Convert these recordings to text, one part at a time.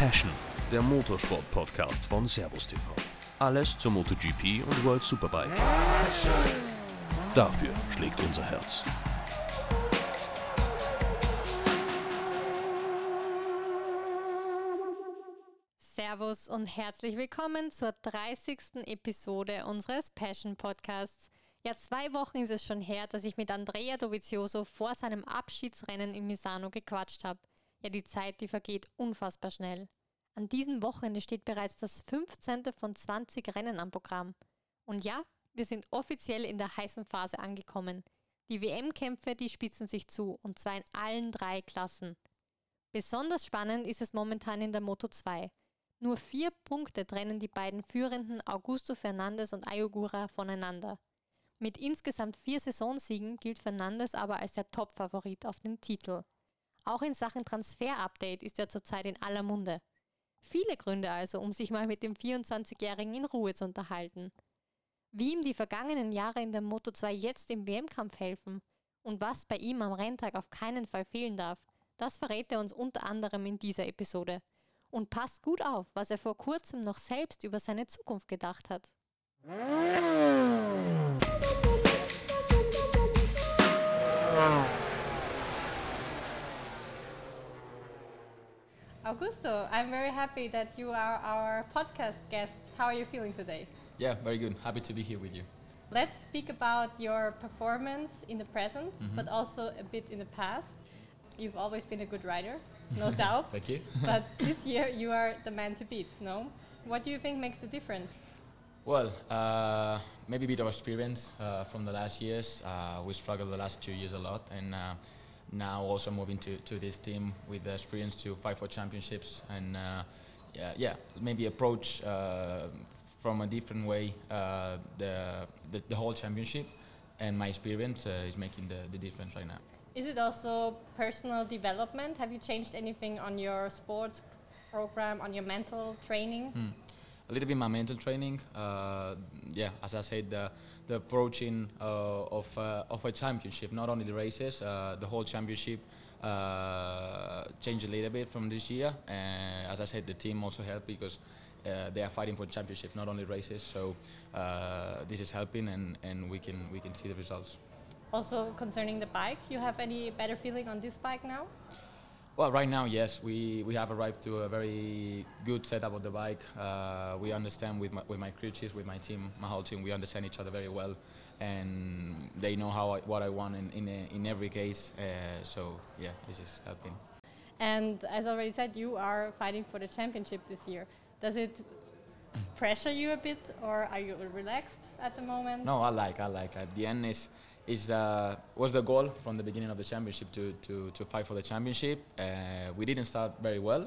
Passion, der Motorsport-Podcast von Servus TV. Alles zur MotoGP und World Superbike. Dafür schlägt unser Herz. Servus und herzlich willkommen zur 30. Episode unseres Passion Podcasts. Ja, 2 Wochen ist es schon her, dass ich mit Andrea Dovizioso vor seinem Abschiedsrennen in Misano gequatscht habe. Ja, die Zeit, die vergeht unfassbar schnell. An diesem Wochenende steht bereits das 15. von 20 Rennen am Programm. Und ja, wir sind offiziell in der heißen Phase angekommen. Die WM-Kämpfe, die spitzen sich zu, und zwar in allen 3 Klassen. Besonders spannend ist es momentan in der Moto2. Nur 4 Punkte trennen die beiden führenden Augusto Fernandes und Ayogura voneinander. Mit insgesamt 4 Saisonsiegen gilt Fernandes aber als der Top-Favorit auf den Titel. Auch in Sachen Transfer-Update ist er zurzeit in aller Munde. Viele Gründe also, um sich mal mit dem 24-Jährigen in Ruhe zu unterhalten. Wie ihm die vergangenen Jahre in der Moto2 jetzt im WM-Kampf helfen und was bei ihm am Renntag auf keinen Fall fehlen darf, das verrät er uns unter anderem in dieser Episode. Und passt gut auf, was er vor kurzem noch selbst über seine Zukunft gedacht hat. Augusto, I'm very happy that you are our podcast guest. How are you feeling today? Yeah, very good. Happy to be here with you. Let's speak about your performance in the present, but also a bit in the past. You've always been a good rider, no doubt. Thank you. But this year you are the man to beat, no? What do you think makes the difference? Well, maybe a bit of experience from the last years. We struggled the last 2 years a lot, and now also moving to this team with the experience to fight for championships and maybe approach from a different way the whole championship, and my experience is making the difference right now. Is it also personal development? Have you changed anything on your sports program, on your mental training? A little bit my mental training. As I said, the approaching of a championship, not only the races, the whole championship changed a little bit from this year. As I said, the team also helped because they are fighting for championship, not only races. So this is helping, and we can see the results. Also concerning the bike, you have any better feeling on this bike now? Well, right now, yes, we have arrived to a very good setup of the bike. We understand with my crew chiefs, with my team, my whole team, we understand each other very well, and they know what I want in every case. So yeah, this is helping. And as already said, you are fighting for the championship this year. Does it pressure you a bit, or are you relaxed at the moment? No, I like. At the end was the goal from the beginning of the championship to fight for the championship. We didn't start very well,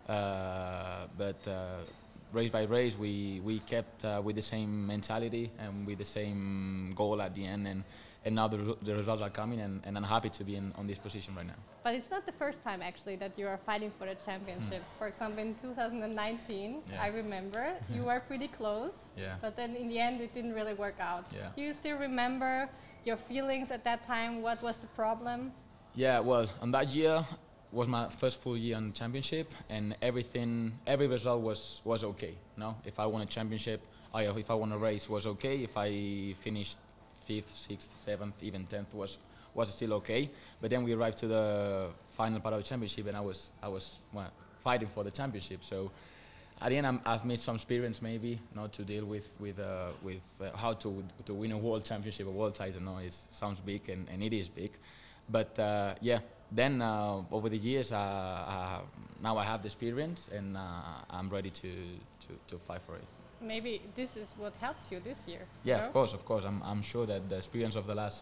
but race by race we kept with the same mentality and with the same goal at the end, and now the results are coming, and I'm happy to be on this position right now. But it's not the first time actually that you are fighting for the championship. For example, in 2019, I remember you were pretty close, but then in the end it didn't really work out. Yeah. Do you still remember your feelings at that time? What was the problem? Yeah, well, on that year was my first full year on the championship, and every result was okay. No, if I won a championship, if I won a race was okay. If I finished 5th, 6th, 7th, even 10th was still okay. But then we arrived to the final part of the championship, and I was fighting for the championship. So at the end, I've made some experience maybe not to deal with how to win a world championship, a world title. No, it sounds big, and it is big. But then over the years, now I have the experience, and I'm ready to fight for it. Maybe this is what helps you this year. Yeah, of course. I'm sure that the experience of the last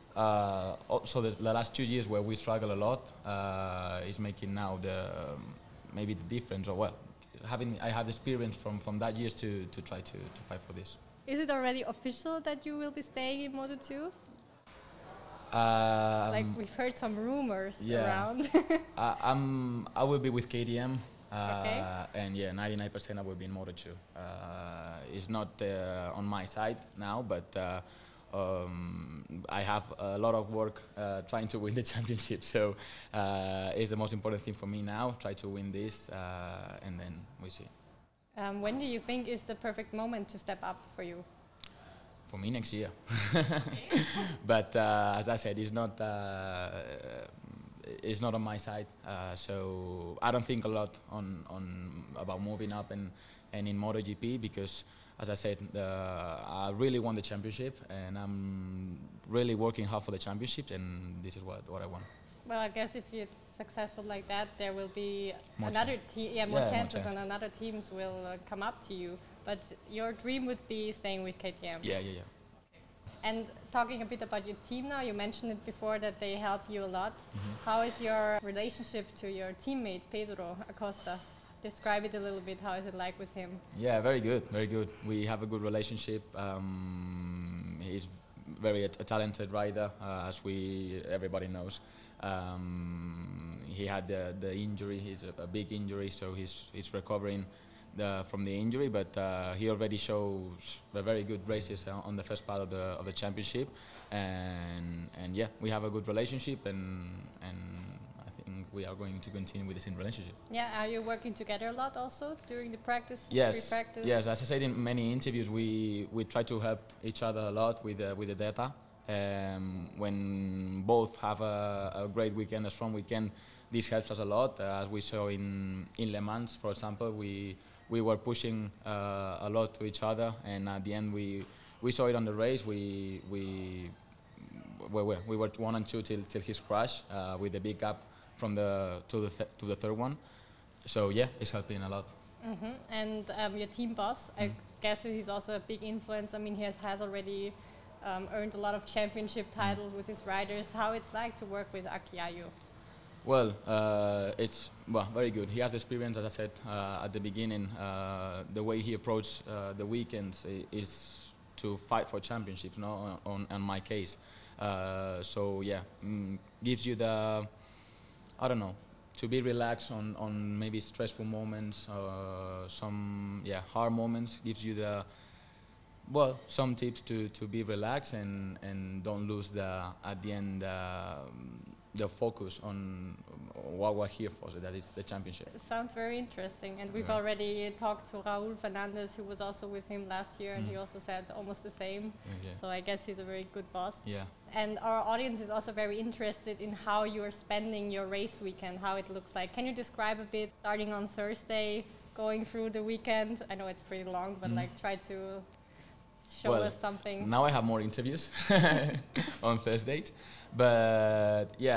the last 2 years where we struggle a lot is making now maybe the difference, or I have experience from that years to try to fight for this. Is it already official that you will be staying in Moto2? Like we've heard some rumors around. I will be with KTM. Okay. And 99% I will be in Moto2. It's not on my side now, but I have a lot of work trying to win the championship. So it's the most important thing for me now. Try to win this, and then we see. When do you think is the perfect moment to step up for you? For me, next year. But as I said, it's not on my side. So I don't think a lot on about moving up and in MotoGP, because, as I said, I really want the championship, and I'm really working hard for the championship, and this is what I want. Well, I guess if it's successful like that, there will be More another more more chances, chance. and other teams will come up to you. But your dream would be staying with KTM. Yeah. And talking a bit about your team now, you mentioned it before that they help you a lot. How is your relationship to your teammate Pedro Acosta? Describe it a little bit. How is it like with him? Yeah, very good, very good. We have a good relationship. He's very a talented rider, as everybody knows. He had the injury. It's a big injury, so he's recovering from the injury. But he already shows very good races on the first part of the championship, and yeah, we have a good relationship, and I think we are going to continue with the same relationship. Yeah, are you working together a lot also during the practice? Yes, pre-practice? yes. As I said in many interviews, we try to help each other a lot with the data. When both have a great weekend, a strong weekend, this helps us a lot. As we saw in Le Mans, for example, we were pushing a lot to each other, and at the end we saw it on the race. We were 1 and 2 till his crash, with a big gap from to the third one. So yeah, it's helping a lot. And your team boss, I guess he's also a big influence. I mean, he has already earned a lot of championship titles with his riders. How it's like to work with Aki Ayu? Well, it's very good. He has the experience, as I said at the beginning. The way he approached the weekends is to fight for championships, no? On my case. So yeah, gives you the, I don't know, to be relaxed on maybe stressful moments, some hard moments. Gives you some tips to be relaxed and don't lose at the end the focus on what we're here for, so that is the championship. It sounds very interesting, and we've already talked to Raúl Fernández, who was also with him last year, and he also said almost the same. So I guess he's a very good boss. Yeah. And our audience is also very interested in how you're spending your race weekend, how it looks like. Can you describe a bit, starting on Thursday, going through the weekend? I know it's pretty long, but try to show us something. Now I have more interviews on Thursdays, but yeah.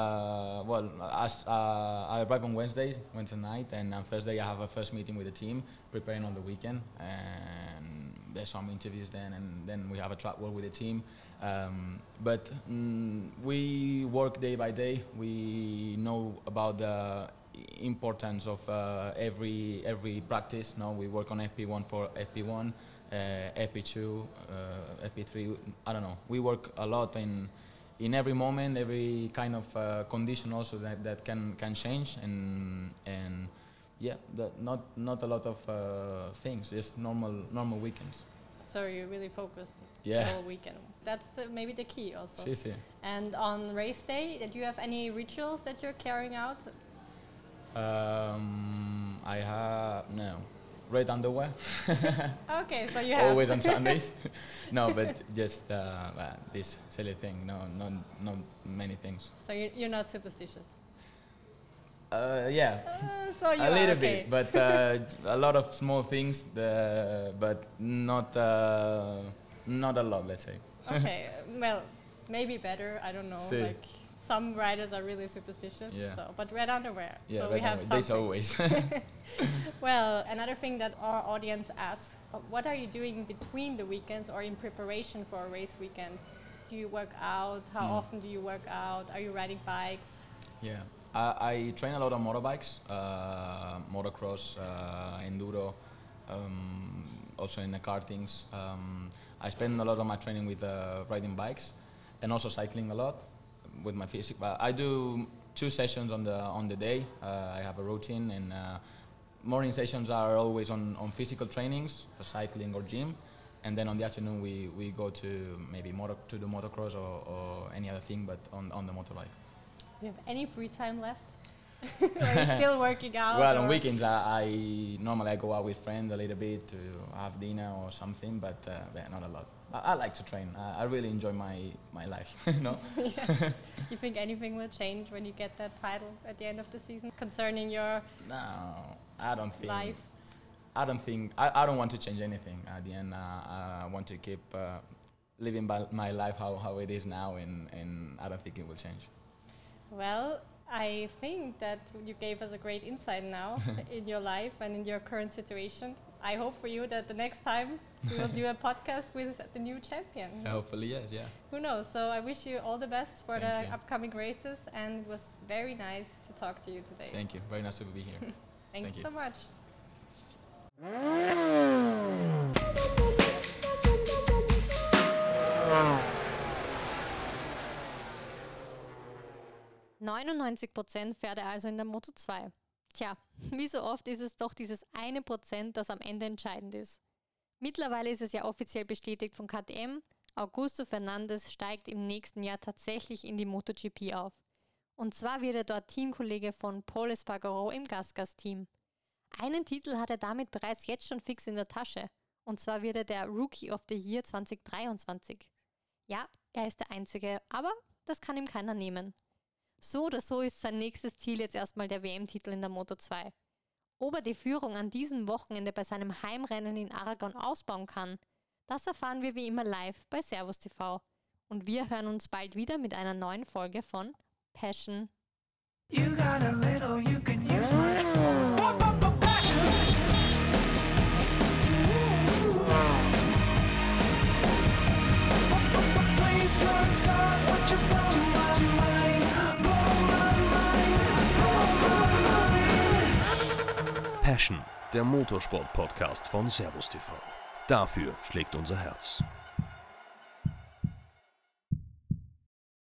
I arrive on Wednesday night, and on Thursday I have a first meeting with the team, preparing on the weekend, and there's some interviews then, and then we have a track work with the team. But we work day by day. We know about the importance of every practice. Now we work on FP1 for FP1. FP2, FP3, I don't know. We work a lot in every moment, every kind of condition also that can change, and yeah, not a lot of things, just normal weekends. So you're really focused the whole weekend. That's maybe the key also. Sí. And on race day, do you have any rituals that you're carrying out? I have no. Red underwear. Okay, so you have always on Sundays. No, but just this silly thing. No, not many things. So you're not superstitious. Yeah, so you a little okay. bit, but a lot of small things, but not a lot. Let's say. Okay, well, maybe better. I don't know. Sí. Like some riders are really superstitious. Yeah. So, but red underwear. Yeah, so we have something. this always. Well, another thing that our audience asks, what are you doing between the weekends or in preparation for a race weekend? Do you work out? How often do you work out? Are you riding bikes? Yeah, I train a lot on motorbikes, motocross, enduro, also in the kartings. I spend a lot of my training with riding bikes, and also cycling a lot with my physique. But I do 2 sessions on the day. I have a routine, and morning sessions are always on physical trainings, cycling or gym, and then on the afternoon we go to maybe to the motocross or any other thing, but on the motorbike. Do you have any free time left? Or are you still working out? Well, on weekends I normally go out with friends a little bit to have dinner or something, but not a lot. I like to train. I really enjoy my life. No. Yeah. You think anything will change when you get that title at the end of the season concerning your No, I don't think. life? I don't want to change anything. At the end, I want to keep living my life how it is now, and I don't think it will change. Well, I think that you gave us a great insight now in your life and in your current situation. I hope for you that the next time we will do a podcast with the new champion. Hopefully, yes, yeah. Who knows? So I wish you all the best for Thank the you. upcoming races, and it was very nice to talk to you today. Thank you. Very nice to be here. Thank you so much. %99 fährt er also in der Moto 2. Tja, wie so oft ist es doch dieses 1%, das am Ende entscheidend ist. Mittlerweile ist es ja offiziell bestätigt von KTM, Augusto Fernandes steigt im nächsten Jahr tatsächlich in die MotoGP auf. Und zwar wird er dort Teamkollege von Pol Espargaro im Gasgas-Team. Einen Titel hat er damit bereits jetzt schon fix in der Tasche. Und zwar wird er der Rookie of the Year 2023. Ja, er ist der Einzige, aber das kann ihm keiner nehmen. So oder so ist sein nächstes Ziel jetzt erstmal der WM-Titel in der Moto 2. Ob er die Führung an diesem Wochenende bei seinem Heimrennen in Aragon ausbauen kann, das erfahren wir wie immer live bei Servus TV. Und wir hören uns bald wieder mit einer neuen Folge von Passion. You got a little, you can use much more. Passion. Please don't God, what you blow my mind, blow my mind, blow my mind. Passion, der Motorsport-Podcast von Servus TV. Dafür schlägt unser Herz.